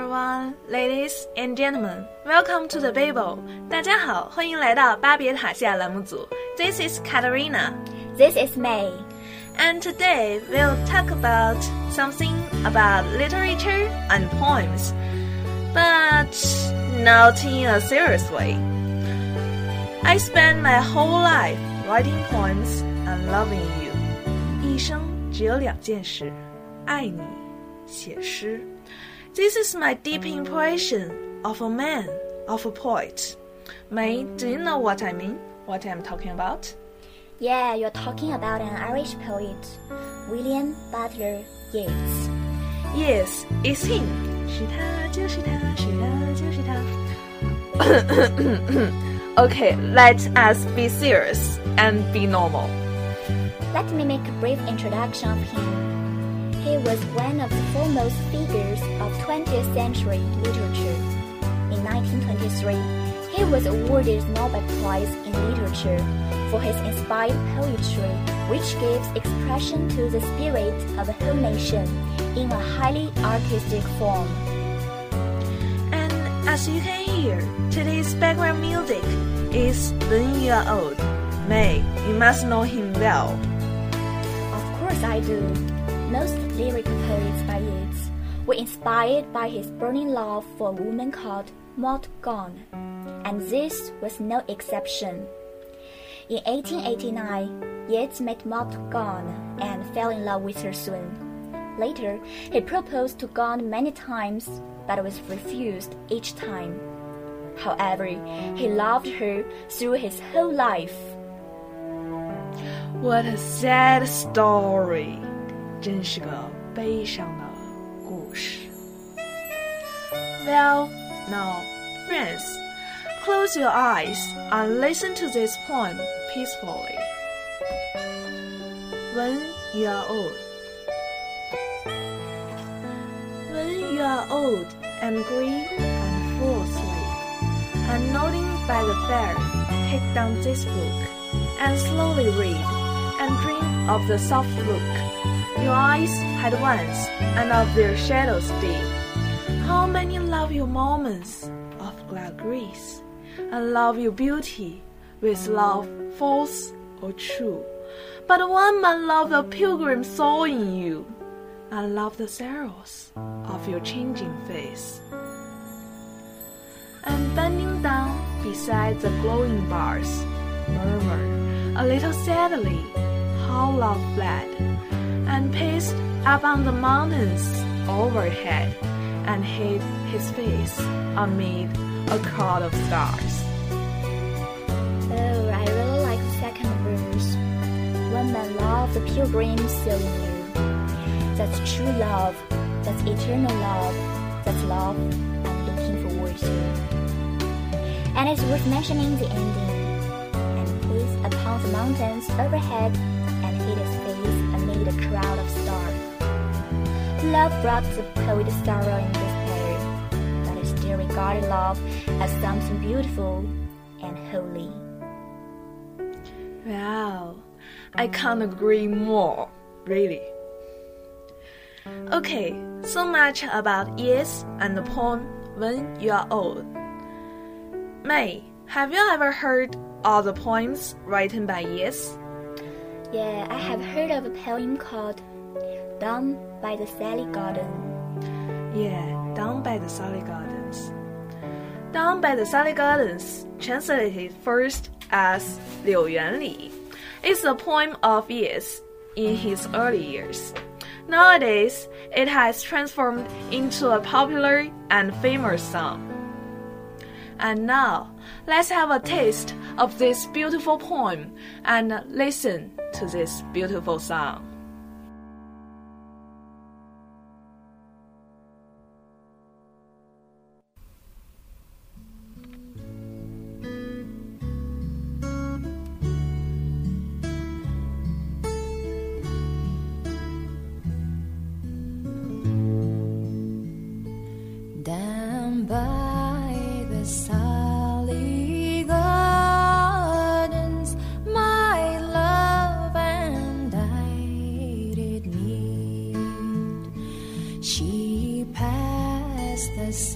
everyone, ladies and gentlemen. Welcome to the Babel. 大家好，欢迎来到巴别塔下栏目组。This is Katarina. This is May. And today we'll talk about something about literature and poems, but not in a serious way. I spent my whole life writing poems and loving you. 一生只有两件事，爱你，写诗。This is my deep impression of a man, of a poet. May, do you know what I mean? What I'm talking about? Yeah, you're talking about an Irish poet, William Butler Yeats. Yes, it's him. 是他，就是他，是他，就是他。Okay, let us be serious and be normal. Let me make a brief introduction of him. He was one of the foremost figures of 20th century literature. In 1923, he was awarded the Nobel Prize in Literature for his inspired poetry, which gives expression to the spirit of a whole nation in a highly artistic form. And as you can hear, today's background music is When You Are Old. May, you must know him well. Of course I do. Most lyrical poets by Yeats were inspired by his burning love for a woman called Maud Gonne, and this was no exception. In 1889, Yeats met Maud Gonne and fell in love with her soon. Later, he proposed to Gonne many times, but was refused each time. However, he loved her through his whole life. What a sad story. 真是个悲伤的故事。Well, now, friends, close your eyes and listen to this poem peacefully. When you are old. When you are old and grey and full of sleep, and nodding by the fire, take down this book, and slowly read, and dream of the soft look.Your eyes had once, and of their shadows deep. How many love your moments of glad grace, and love your beauty with love false or true. But one man loved a pilgrim soul in you, and loved the sorrows of your changing face. And bending down beside the glowing bars, murmured a little sadly how love fled.And paced up on the mountains overhead, and hid his face amid a crowd of stars. Oh, I really like the second verse. One man loved the pilgrim soul in you. That's true love. That's eternal love. That's love I'm looking forward to. And it's worth mentioning the ending. And paced upon the mountains overhead.And hid his face amid a crowd of stars. Love brought the poet sorrow and despair, but he still regarded love as something beautiful and holy. Wow, I can't agree more, really. Okay, so much about Yeats and the poem When You Are Old. May, have you ever heard all the poems written by Yeats?Yeah, I have heard of a poem called Down by the Sally Garden. Yeah, Down by the Sally Gardens. Down by the Sally Gardens, translated first as 柳园里, is a poem of Yeats in his early years. Nowadays, it has transformed into a popular and famous song. And now, let's have a taste of this beautiful poem and listen to this beautiful song. Down by the Sally Gardens, my love and I did meet. She passed the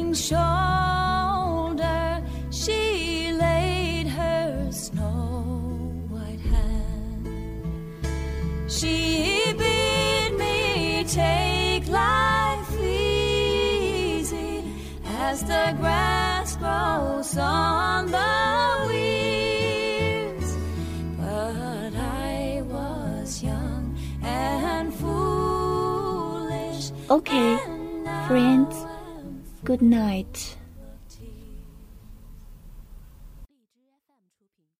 king's shoulder she laid her snow-white hand. She bid me take life easy as the grass grows on the weirs. But I was young and foolish. Okay, friends, good night.